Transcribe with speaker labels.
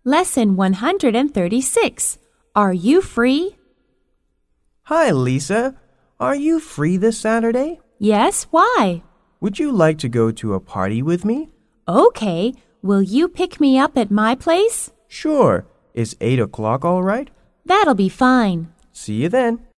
Speaker 1: Lesson 136. Are you free?
Speaker 2: Hi, Lisa. Are you free this Saturday?
Speaker 1: Yes, why?
Speaker 2: Would you like to go to a party with me?
Speaker 1: Okay. Will you pick me up at my place?
Speaker 2: Sure. Is 8 o'clock all right?
Speaker 1: That'll be fine.
Speaker 2: See you then.